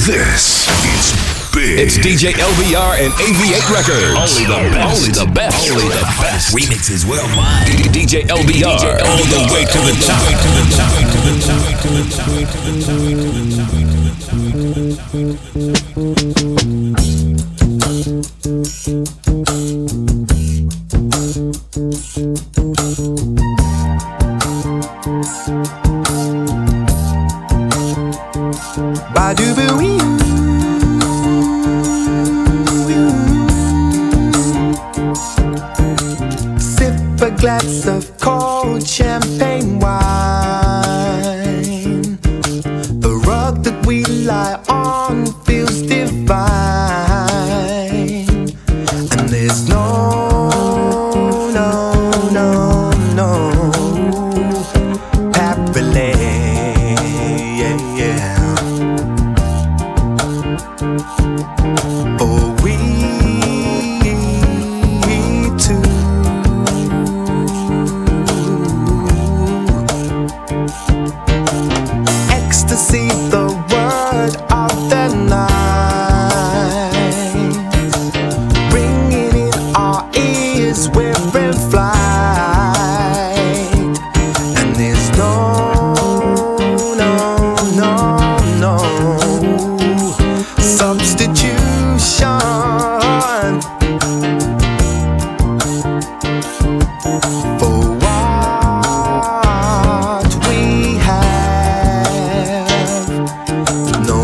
This is big. It's DJ LBR and AV8 Records. Only the best. Only the best. Only the best. Remixes worldwide. DJ LBR. All the way to the top. Sip a glass of cold champagne wine. The rug that we lie on feels divine. And there's no happily, oh, we two. Ecstasy, the word of the night, ringing in our ears, we're in flight. And there's no substitution for what we have. No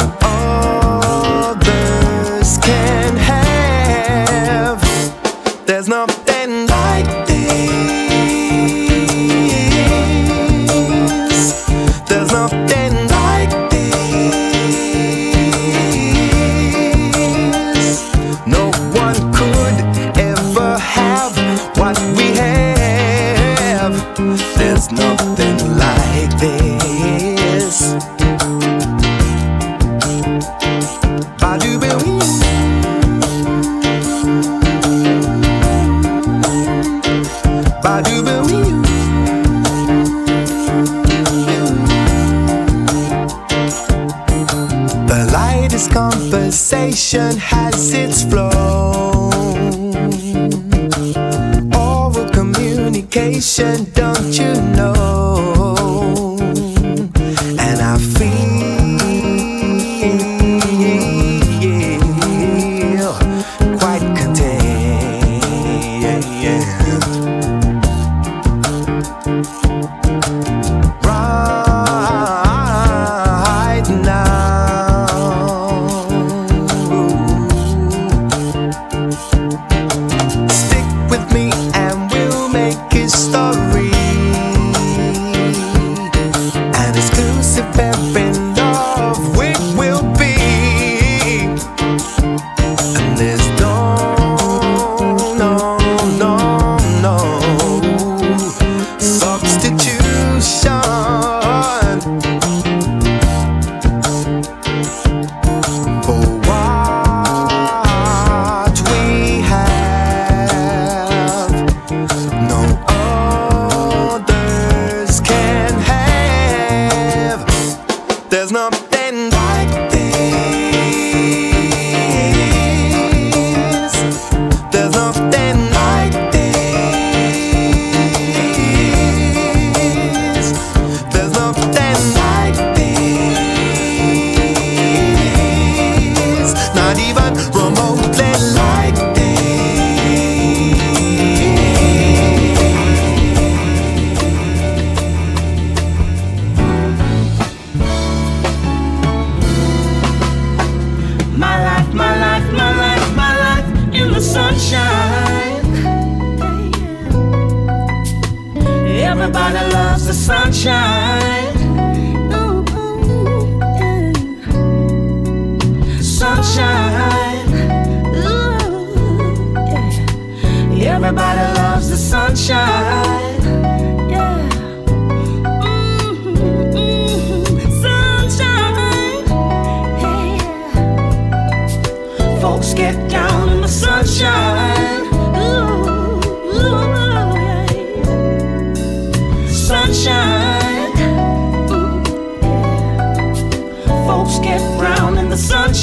others can have. There's nothing like this. There's nothing like this. No one could ever have what we have. There's nothing like this. Ba-doo-ba-wee. Ba-doo-ba-wee. The lightest conversation has its flow. Oral communication, don't you know? And I feel quite content right now. Stick with me and we'll make history. An exclusive pair in love we will be. And there's no substitution for what we have. No others can have. There's nothing like this. There's nothing like this. There's nothing like this. Not even remotely like this. My life, my life, my life, my life in the sunshine. Everybody loves the sunshine. Sunshine. Everybody loves the sunshine. Sunshine. Folks get down in the sunshine. Sunshine. Folks get brown in the sunshine.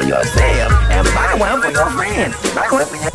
yourself and buy one for your friends. Buy one for your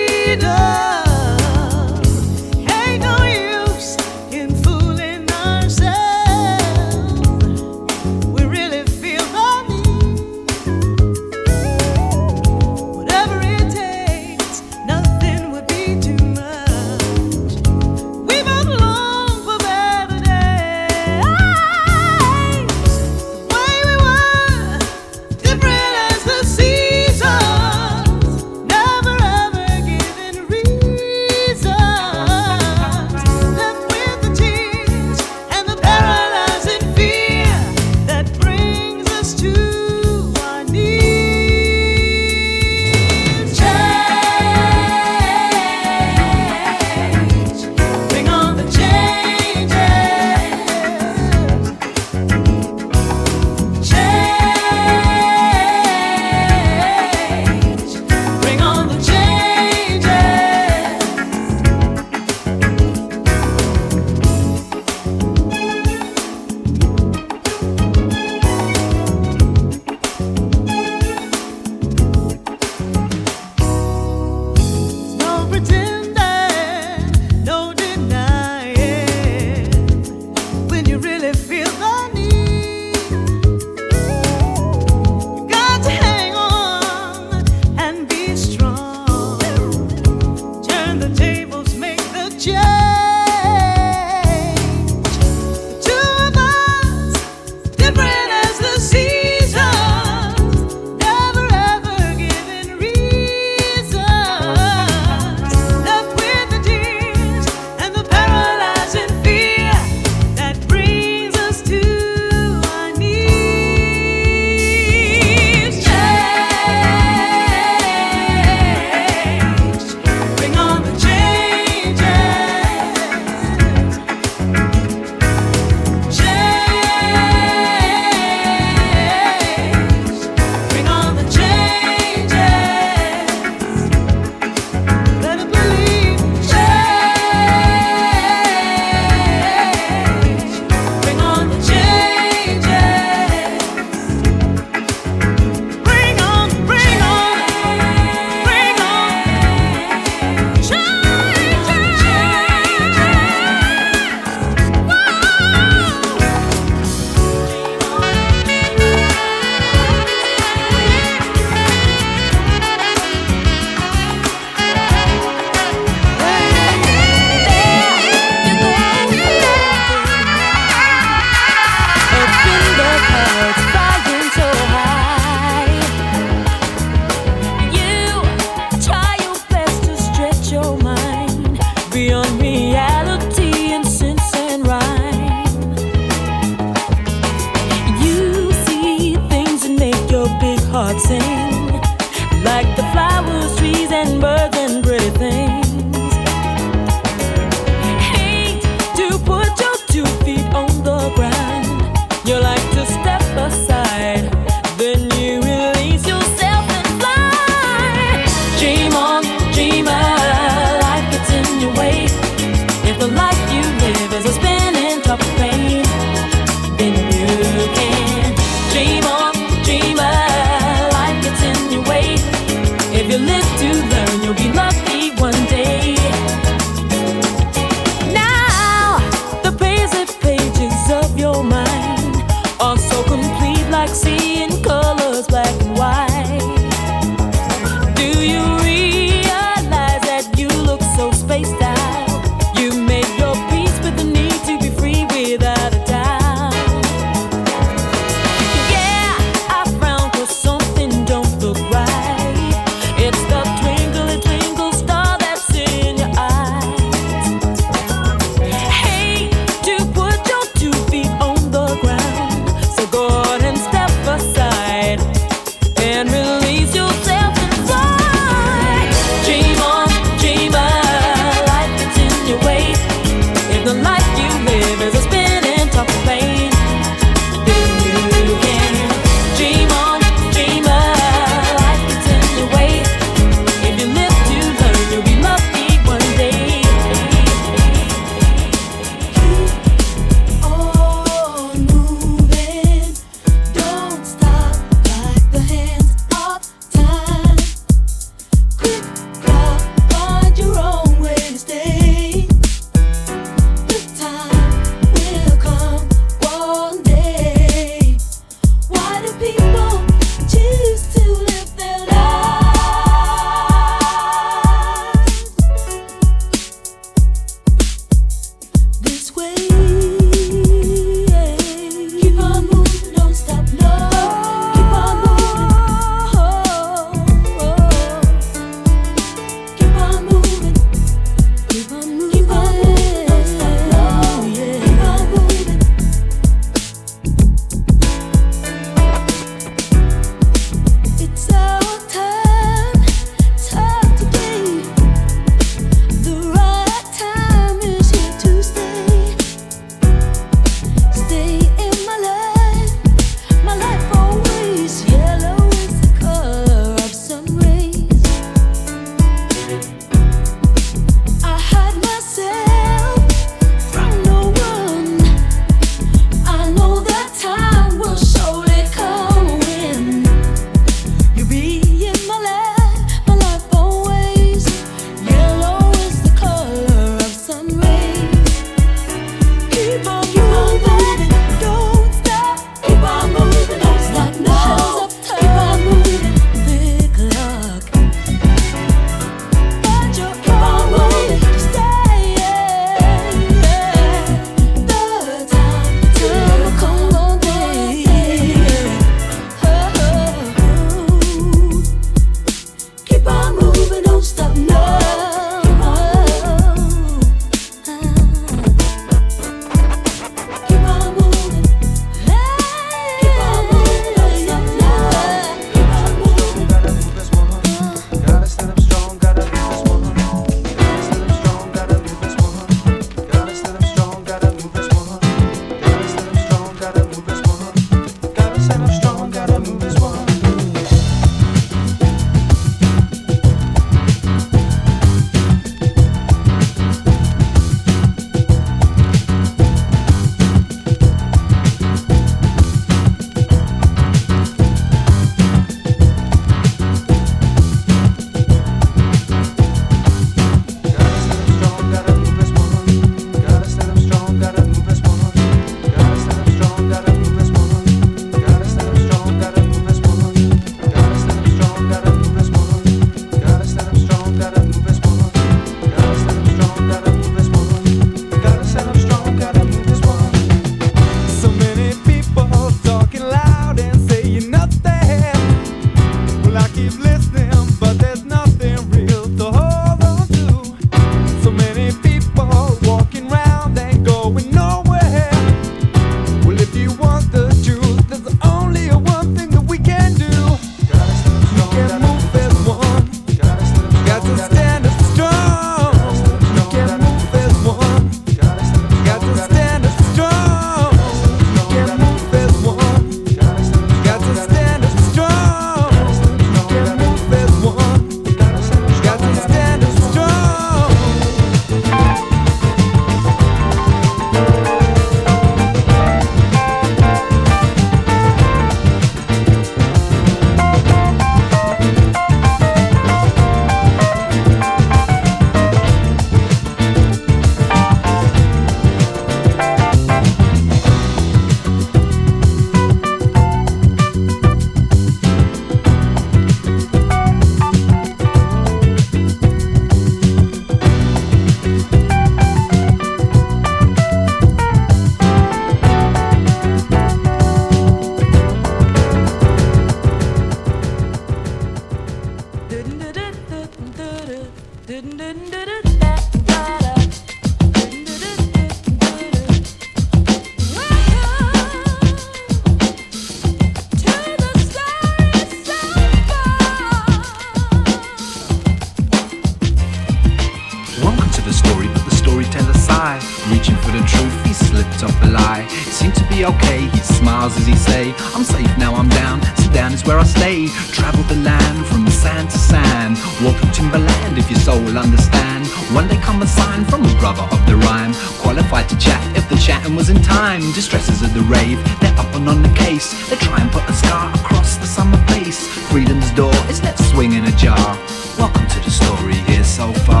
the truth, he slipped up a lie. It seemed to be okay, he smiles as he say, I'm safe now, I'm down, so down is where I stay. Travel the land from sand to sand, walk through timberland if your soul will understand. One day come a sign from a brother of the rhyme, qualified to chat if the chatting was in time. Distresses of the rave, they're up and on the case. They try and put a scar across the summer face. Freedom's door is left swinging ajar. Welcome to the story here so far.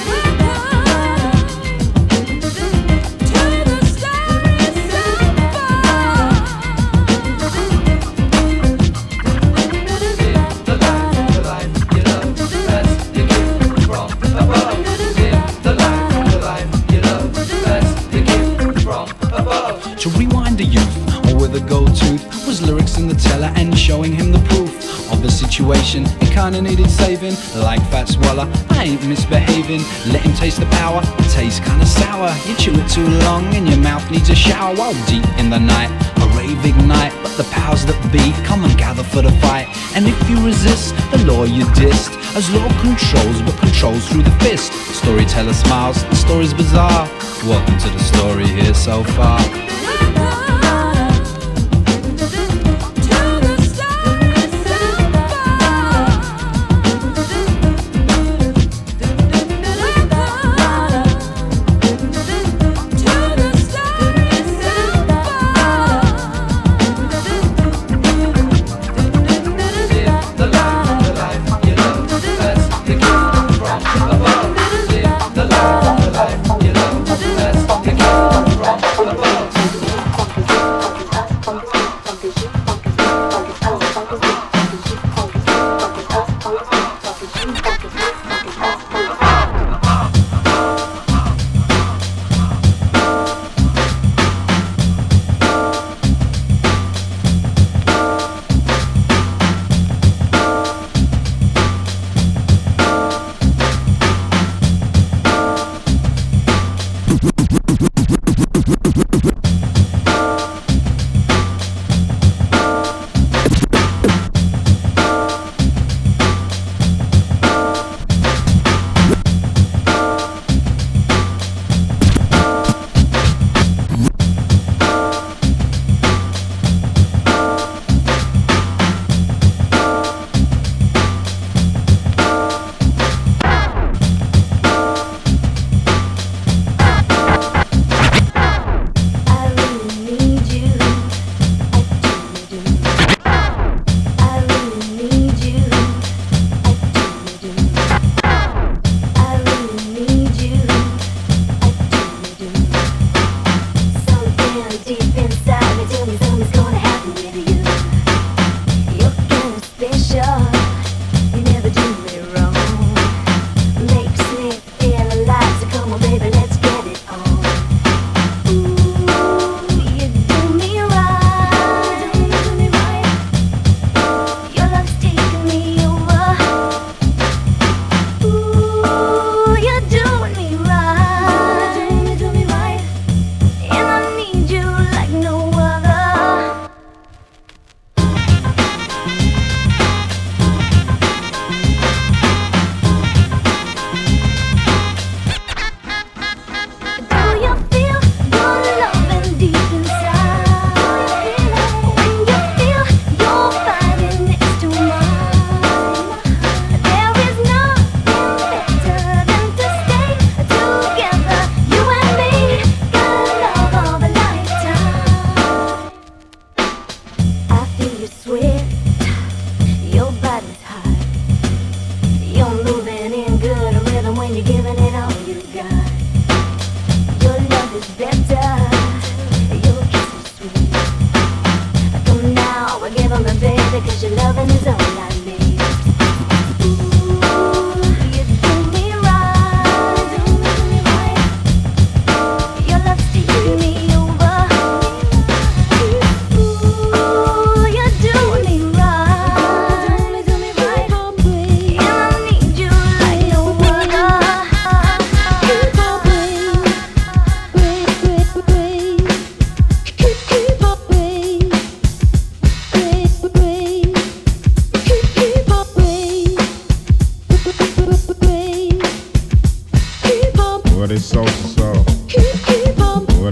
To rewind the youth, or with a gold tooth, was lyrics in the teller and showing him the proof of the situation. It kinda needed saving, like Fat Swallow, I ain't misbehaving. Let him taste the power, it tastes kinda sour. You chew it too long and your mouth needs a shower. While deep in the night, a rave ignite, but the powers that be come and gather for the fight. And if you resist, the law you dissed, as law controls but controls through the fist. Storyteller smiles, the story's bizarre. Welcome to the story here so far.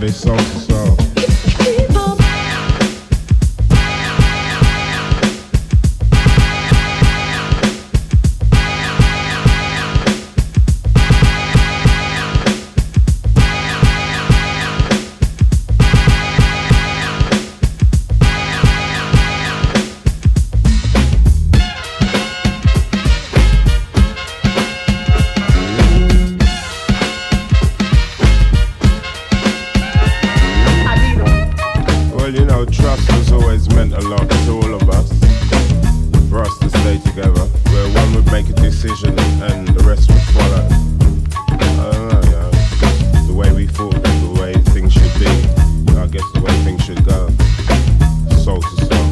Everybody soul to soul. Well, you know, trust has always meant a lot to all of us. For us to stay together, where one would make a decision and the rest would follow. I don't know, you know, just the way we thought, the way things should be. I guess the way things should go. Soul to soul.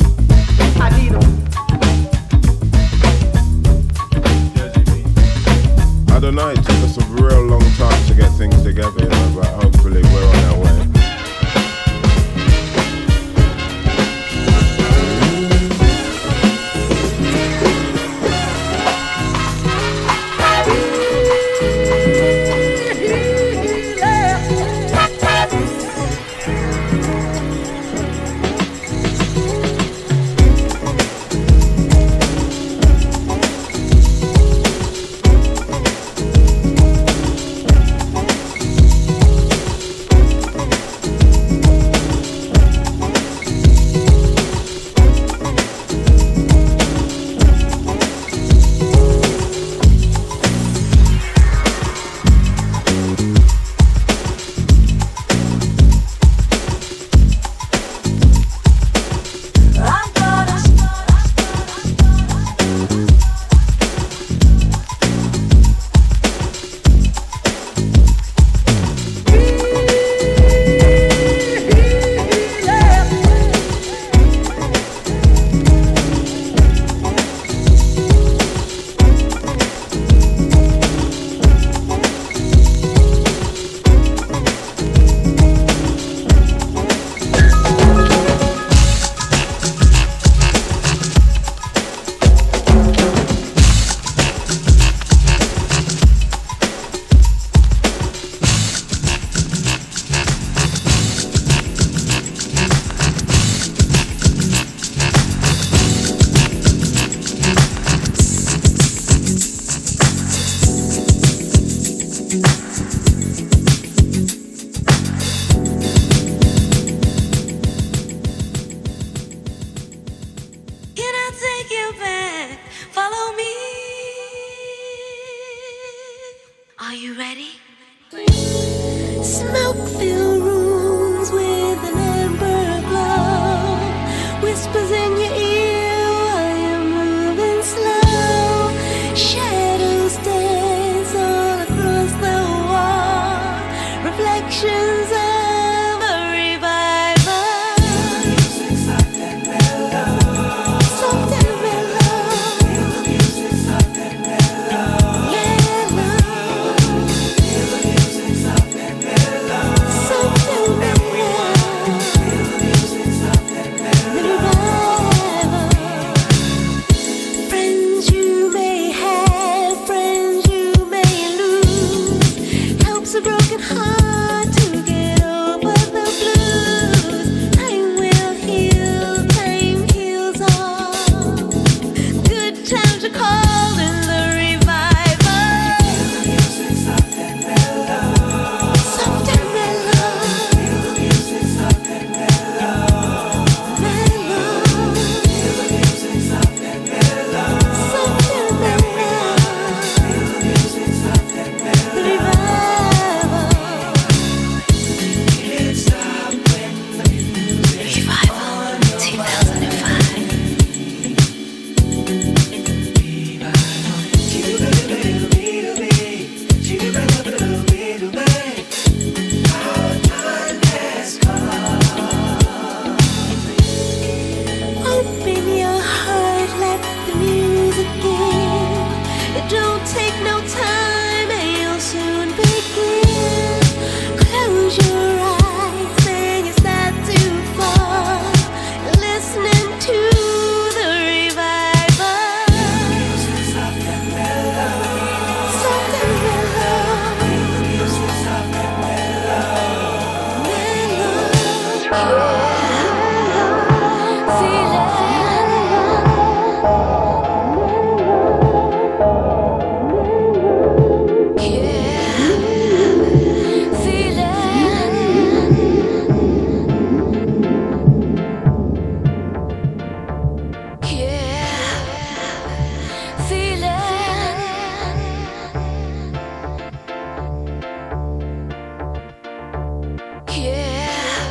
I don't know, it took us a real long time to get things together, you know, but hopefully we're on our way.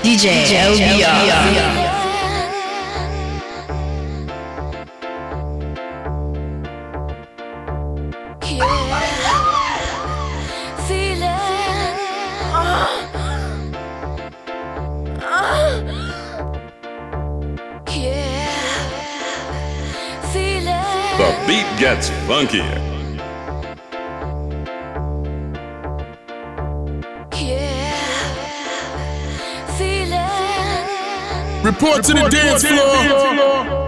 DJ LBR. The beat gets funkier. Report to the dance floor.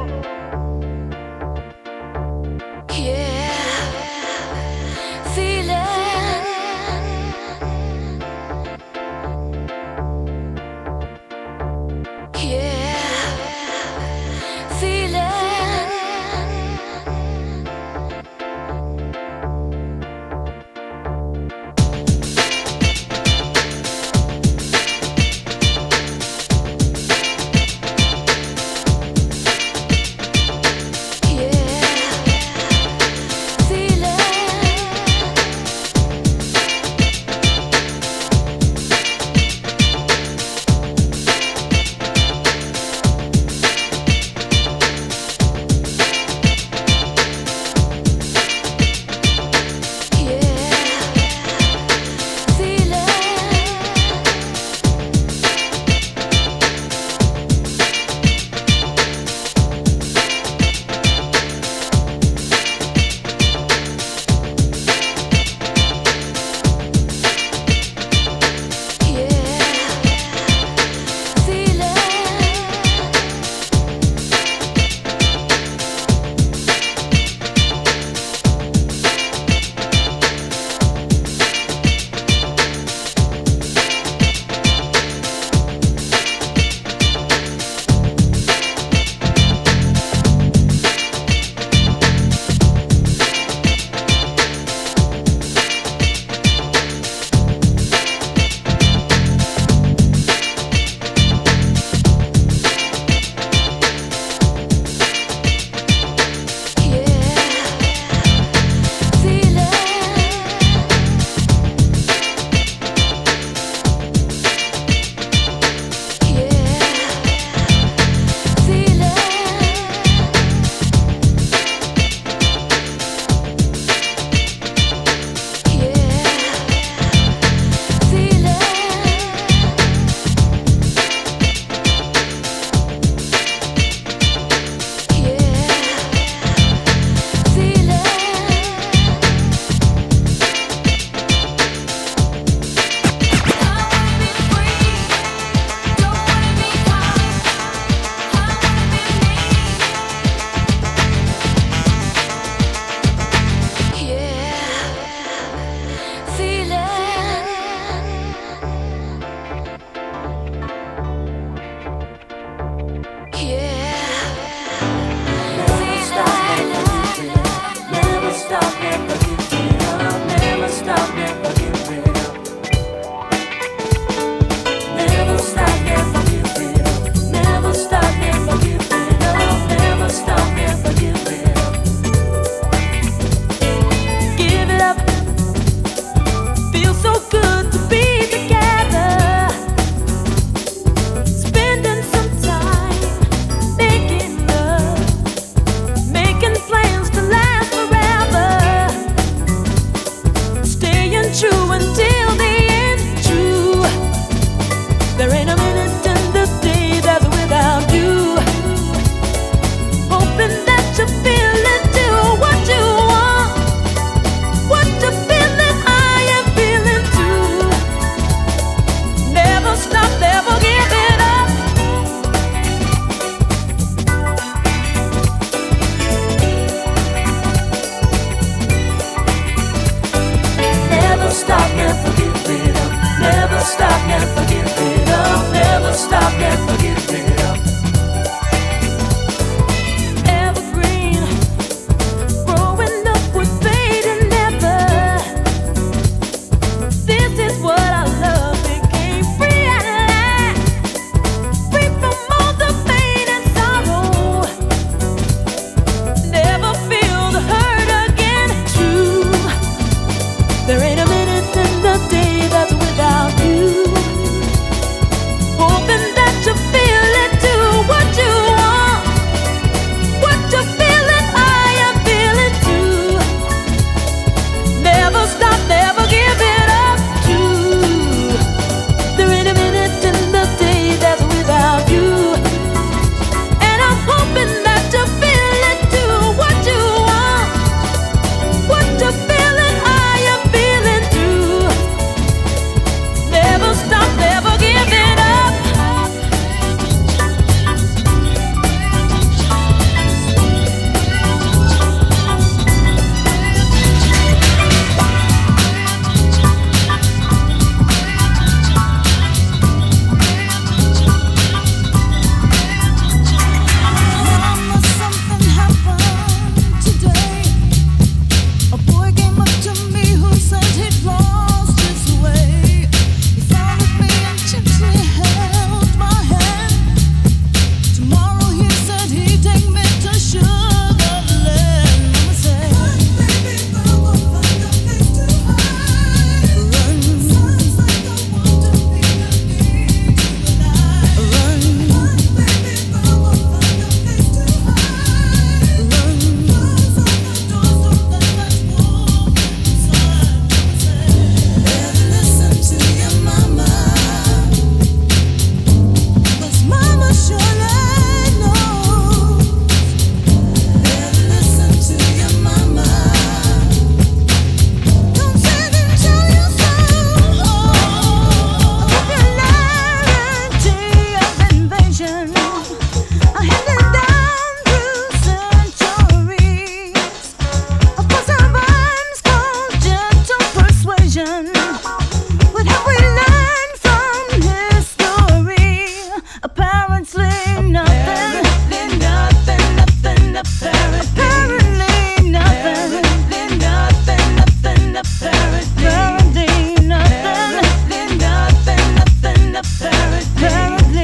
Apparently nothing. Nothing. Apparently nothing. Nothing. Apparently nothing. Nothing. Apparently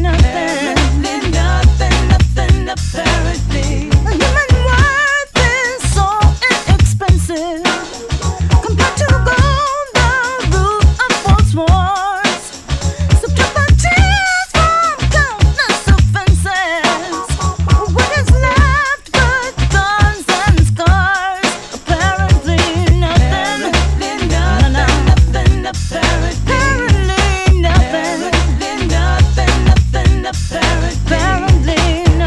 nothing. Apparently. Human worth is so inexpensive compared to gold, the root of false wars. Subtract the tears from countless offenses. What is left but guns and scars? Apparently nothing. Nothing. Apparently nothing. Nothing. Apparently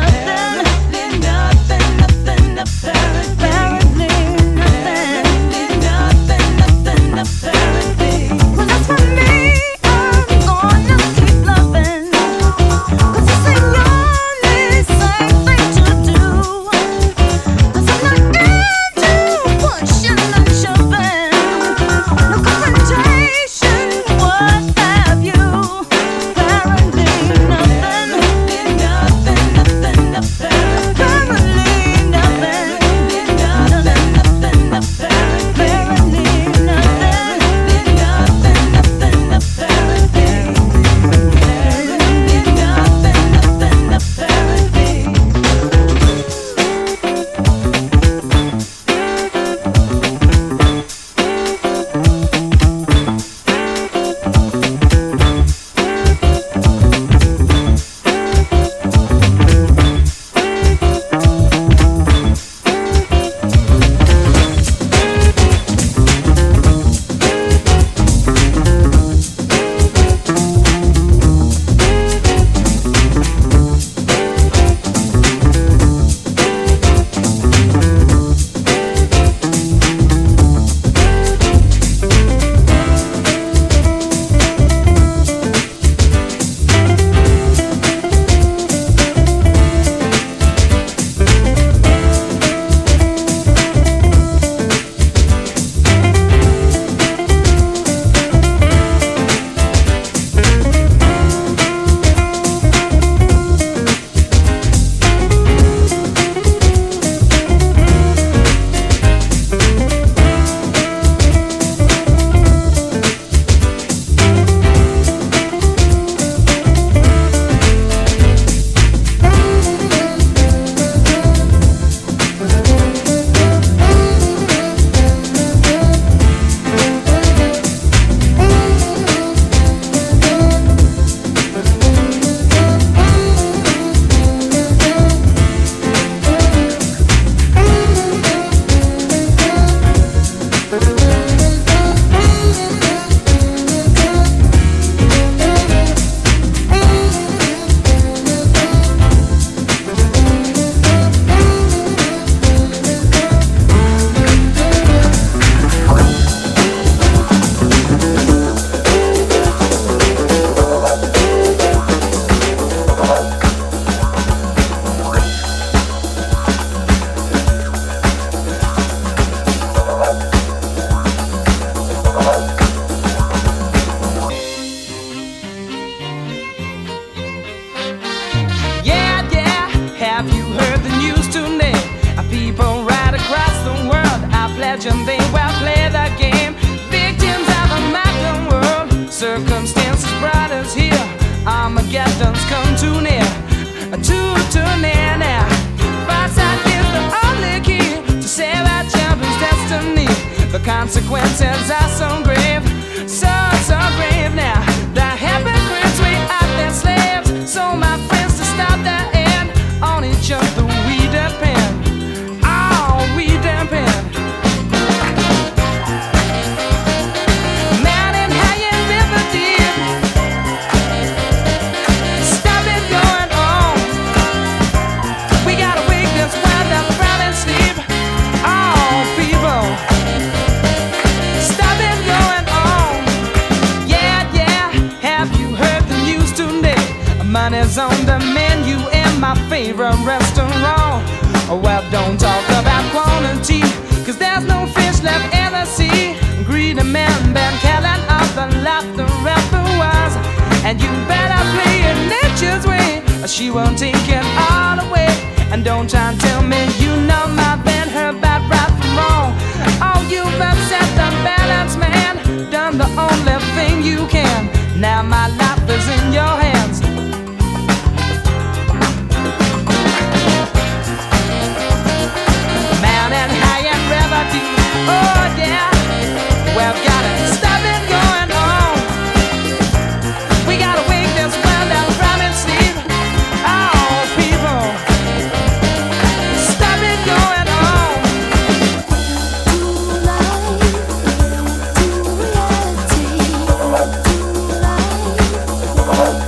legend, they well play the game. Victims of a modern world, circumstances brought us here. Armageddon's come too near, too near now. Foresight is the only key to save our children's destiny. The consequences are so grave, so grave now. The hypocrites, we are their slaves. So my friends, to stop the end, on each other we depend. Oh, we depend. Mountain high and river deep, stop it going on. We gotta wake this wild up proud and sleep. Oh, people, stop it going on. Yeah, have you heard the news today? Money's on the menu in my favorite restaurant. Well, don't talk about quantity, 'cause there's no fish left in the sea. Greedy men been killing off the lot the rest of us, and you better play your nature she won't take it all away. And don't try and tell me you know my band, her bad right from wrong. Oh, you've upset the balance, man. Done the only thing you can. Now my life is in your hands. Mountain high and river deep. Oh yeah, we've gotta stop it going on. We gotta wake this world up from its sleep. Oh people, stop it going on. To life, to reality, to life.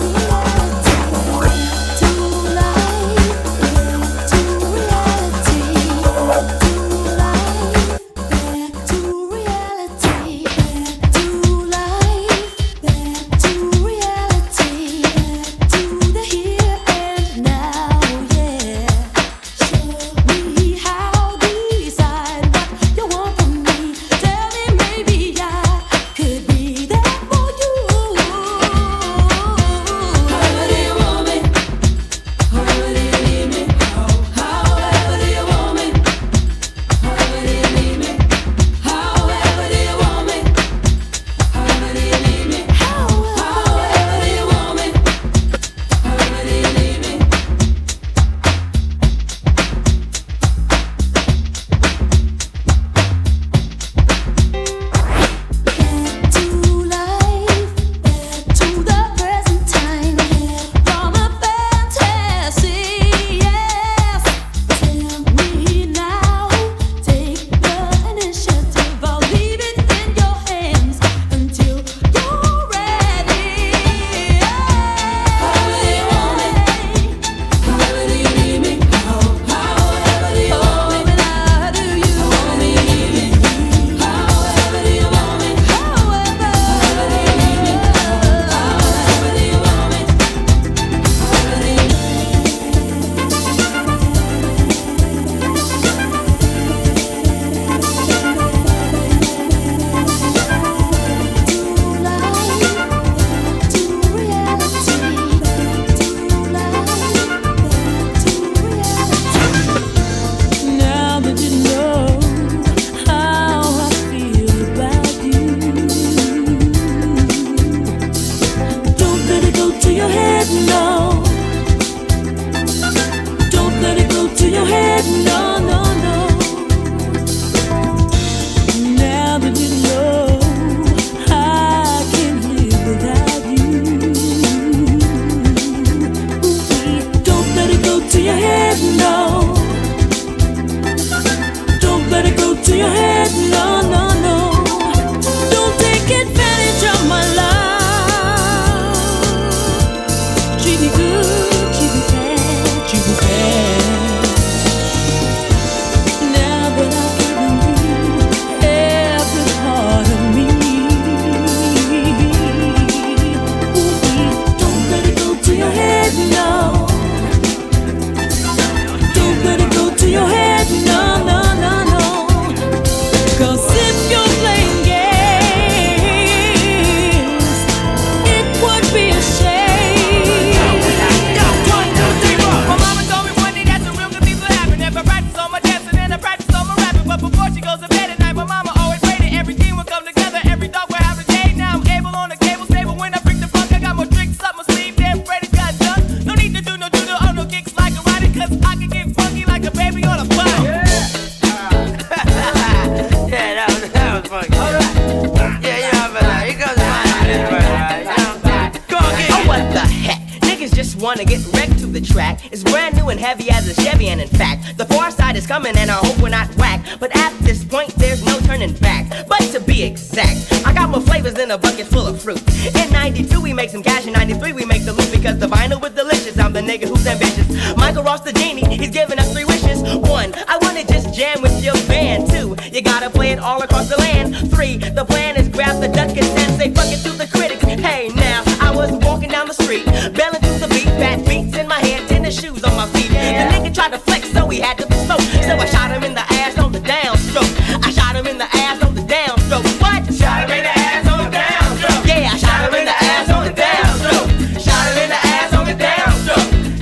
wanna get wrecked to the track. It's brand new and heavy as a Chevy, and in fact, the far side is coming and I hope we're not whack. But at this point, there's no turning back. But to be exact, I got more flavors than a bucket full of fruit. In 92, we make some cash, in 93, we make the loot because the vinyl was delicious. I'm the nigga who's ambitious. Michael Ross the genie, he's giving us 3 wishes. 1, I wanna just jam with your band. 2, you gotta play it all across the land. 3, the plan is grab the duck and say fuck it to the critics. Hey now, I was walking down the street, belling to the beat, fat beats in my hand, tennis shoes on my feet. The nigga tried to flex, so he had to be smoked. So I shot him in the ass on the downstroke. I shot him in the ass on the downstroke. What? Shot him in the ass on the downstroke. Yeah, I shot him in the ass on the downstroke. Shot him in the ass on the downstroke.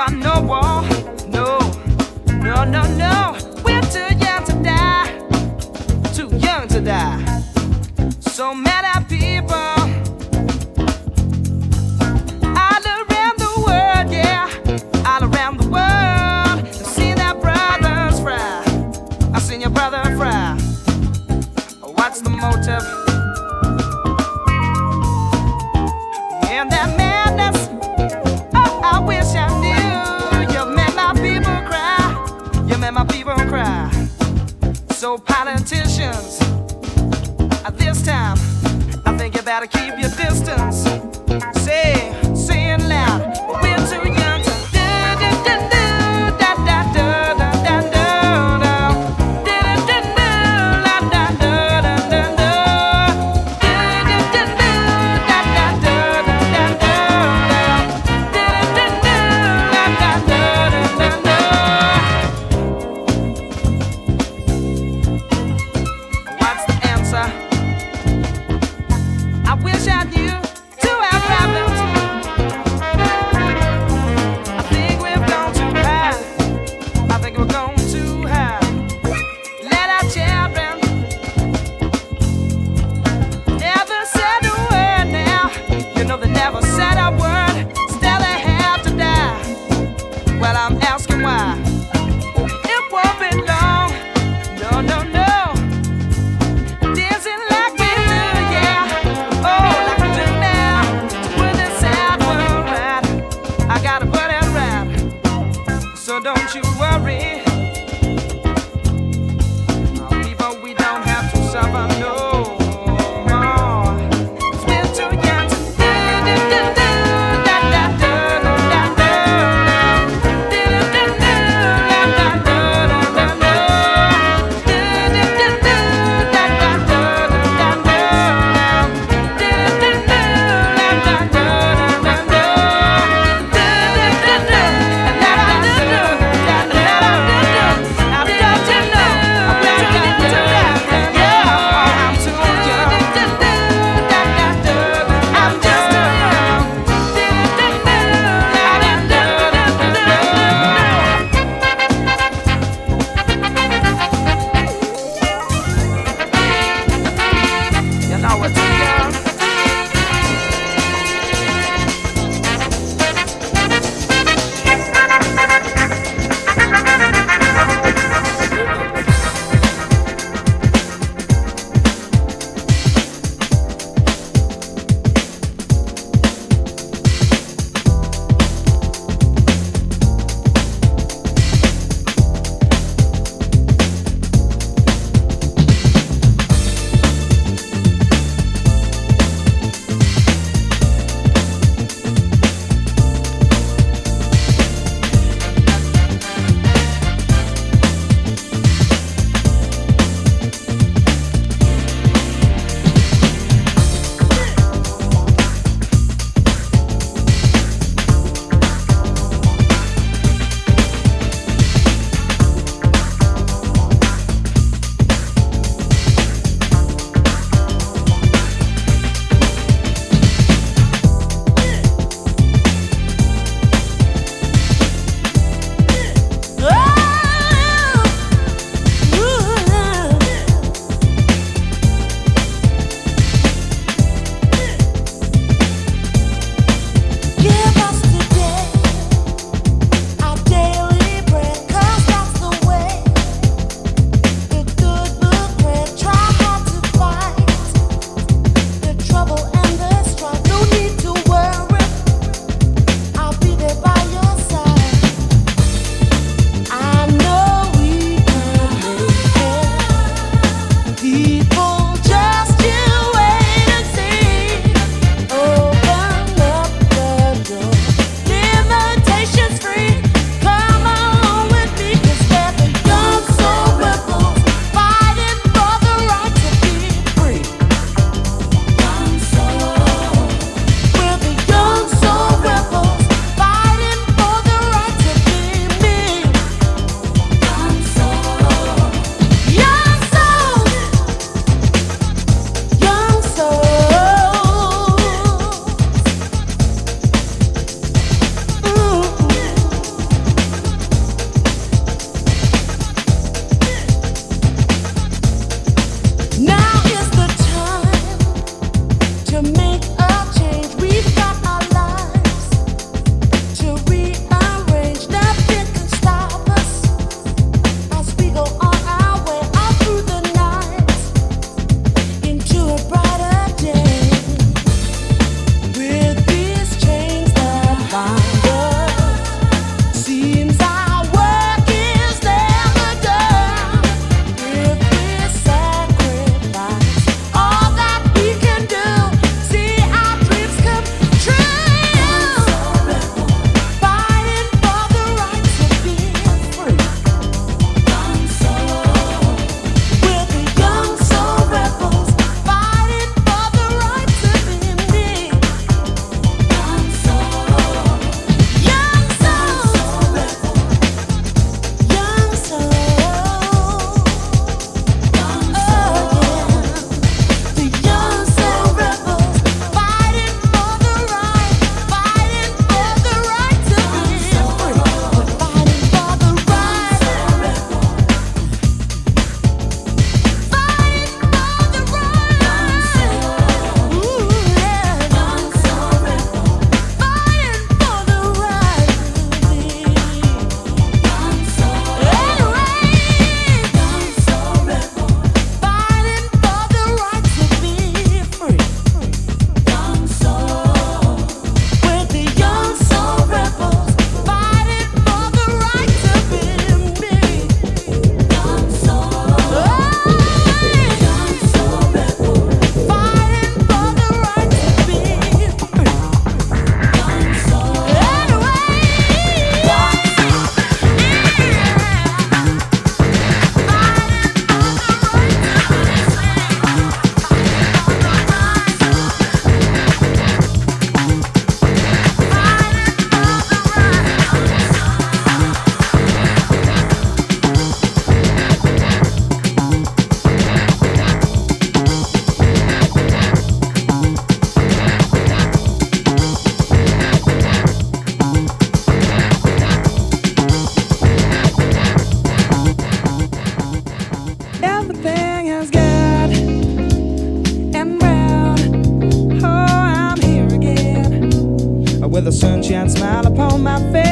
want no war. No, no, no, no. We're too young to die. Too young to die. So many people all around the world, yeah, all around the world. I've seen their brothers fry. I've seen your brother fry. What's the motive? In that madness, oh, I wish I knew. You made my people cry. You made my people cry. So politicians, at this time, I think you better keep your distance. Say it loud. We're too young to do do do do da da do da da do do do do do da da do da da do do do do da da do da da do do do da da do da da. What's the answer? I wish I knew to our problems. I think we've gone too high. I think we're going too high. Let our children never said a word now. You know they never said a word. Still they have to die. Well, I'm asking why. It won't be long. No, no, no. Dancing like we do, yeah. Oh, like we do now. With this sad world right, I gotta put it right. So don't you worry. People, we don't have to suffer no more. 'Cause we're too young to do do do do da da do da da do do do do da da do da da do do do do da da do da da do do do do da da do da da do do do do da da do da da do da da do.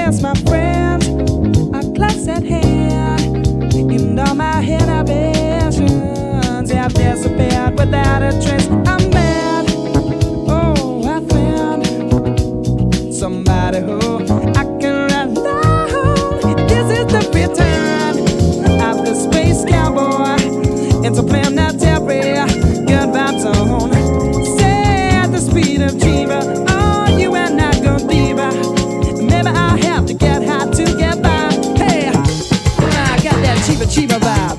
yes, my friend, are close at hand. And all my inhibitions have disappeared without a trace. I'm mad. Oh, I found somebody who I can rely on. This is the return of the space cowboy into planetary good vibes on. Say at the speed of Jiva, oh, you and I go deeper. Maybe I'll have to get high to get by. Hey, I got that Chiba Chiba vibe.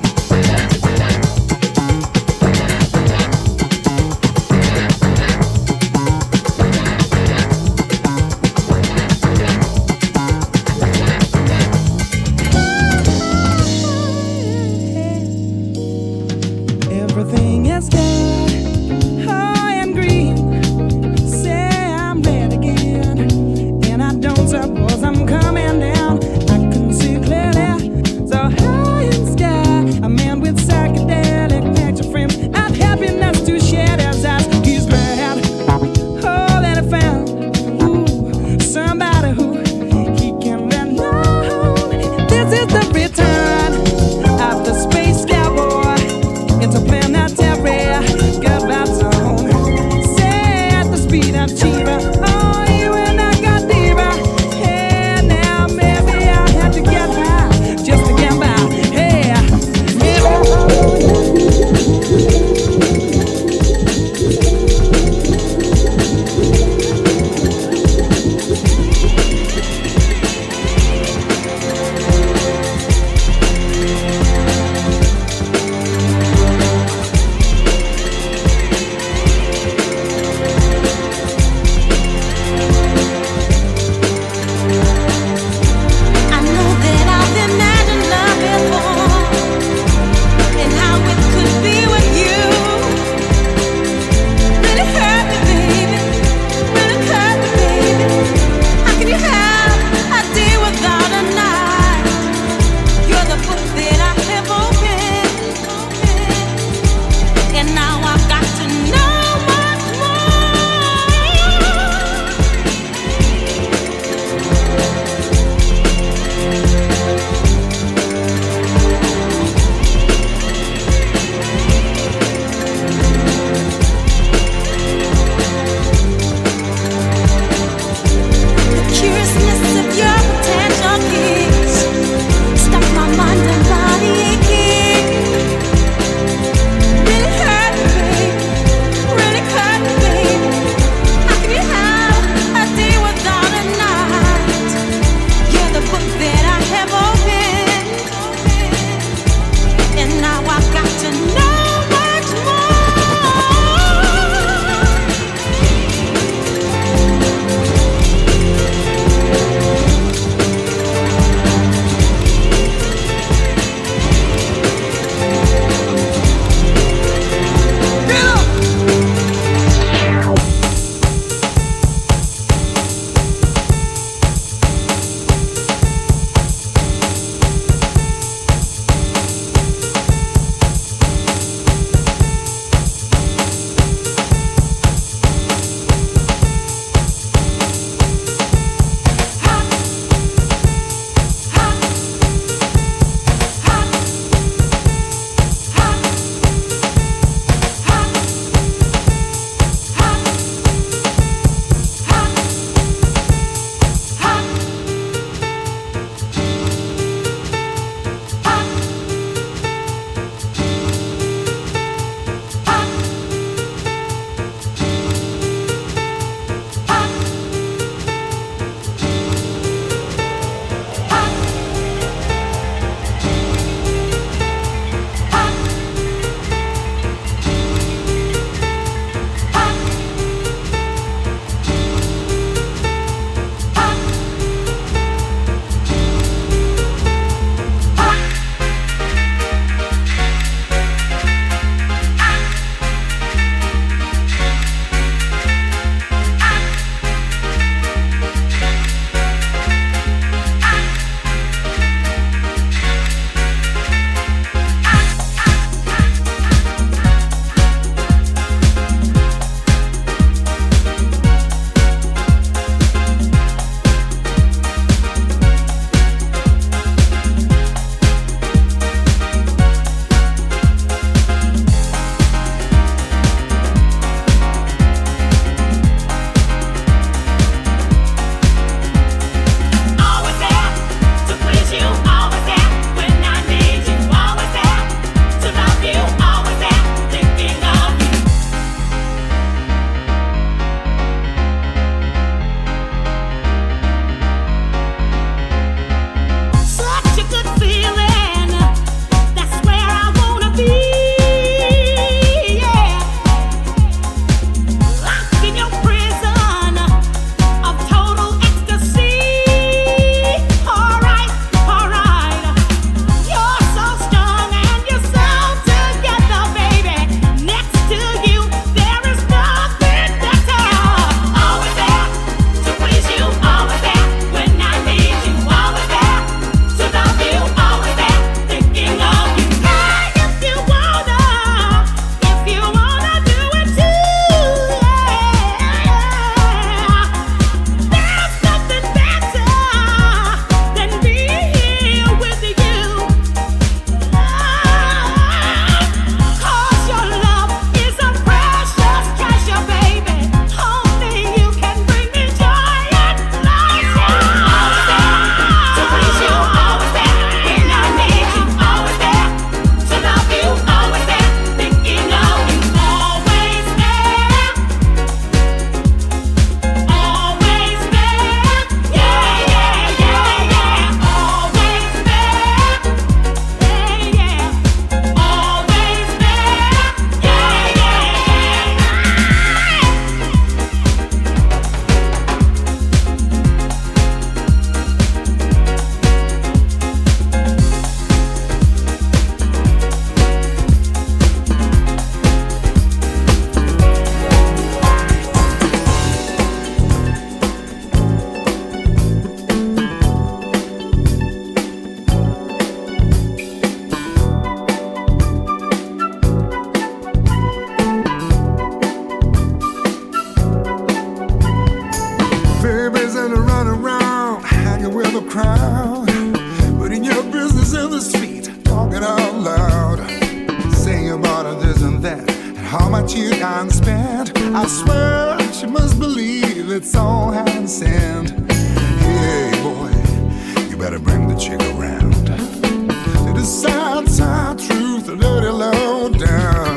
how much you done spent. I swear she must believe it's all heaven sent. Hey boy, you better bring the chick around to the sad truth, the dirty low down.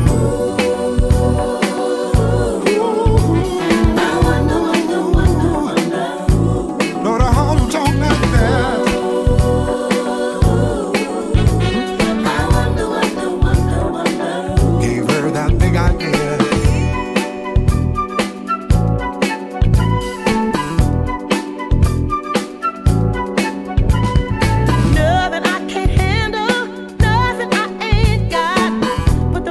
Lord, I hope you don't like that. Gave her that big idea. Nothing I can't handle, nothing I ain't got. Put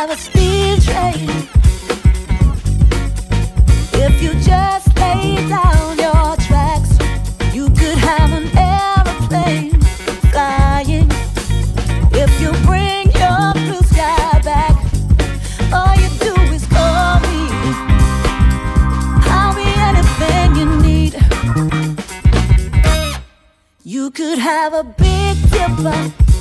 have a speed train. If you just lay down your tracks, you could have an aeroplane flying. If you bring your blue sky back, all you do is call me. I'll be anything you need. You could have a big dipper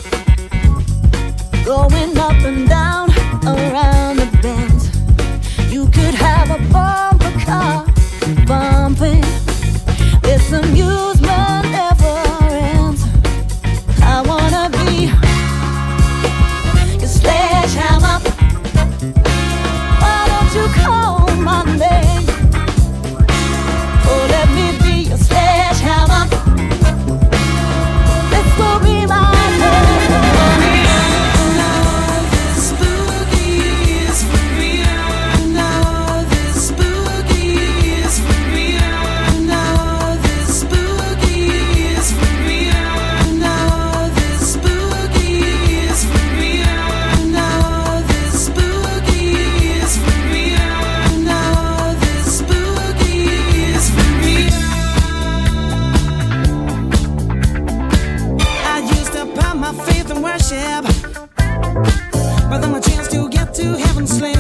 going up and down around the bends. You could have a bumper car bumping. This amusement never ends. I wanna be your sledgehammer. Why don't you call my name? Oh, let me be your sledgehammer. This will be my but then my chance to get to heaven slim.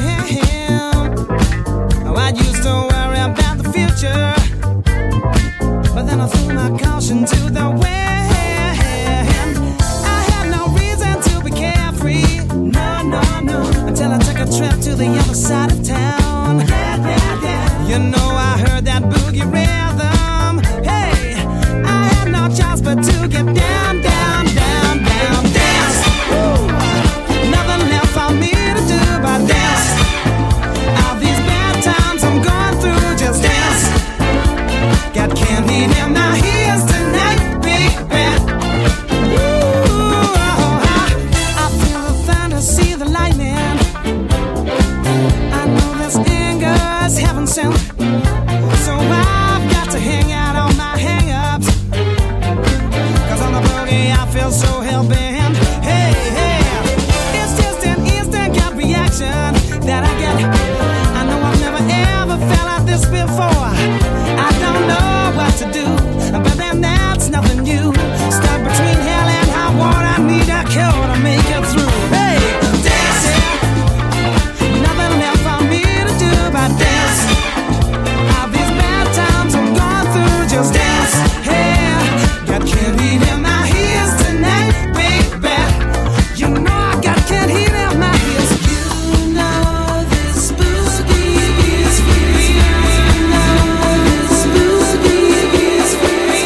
Oh, I used to worry about the future, but then I threw my caution to the wind. I had no reason to be carefree, no, until I took a trip to the other side of town. You know I heard that boogie rhythm. Hey, I had no choice but to get down, down, down, down, dance. Woo! Nothing left for me to do but dance. All these bad times I'm going through, just dance. Got candy in my ears tonight, baby. Ooh, I feel the thunder, see the lightning. I know this anger's heaven sent, so I've got to hang out on my hang-ups. 'Cause on the boogie I feel so hell-bent. Hey, it's just an instant gut reaction that I get. I know I've never ever felt like this before. I don't know what to do, but then that's nothing new. Stuck between hell and high water, I need a cure to make it through. Hey, dance, nothing left for me to do but dance. All these bad times I'm going through, just dance. Hey, got candy in my ears tonight, baby. You know I got candy in my ears. You know this boogie is free. You know this boogie is free.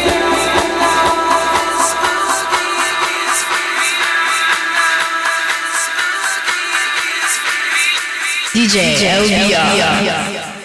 DJ LBR.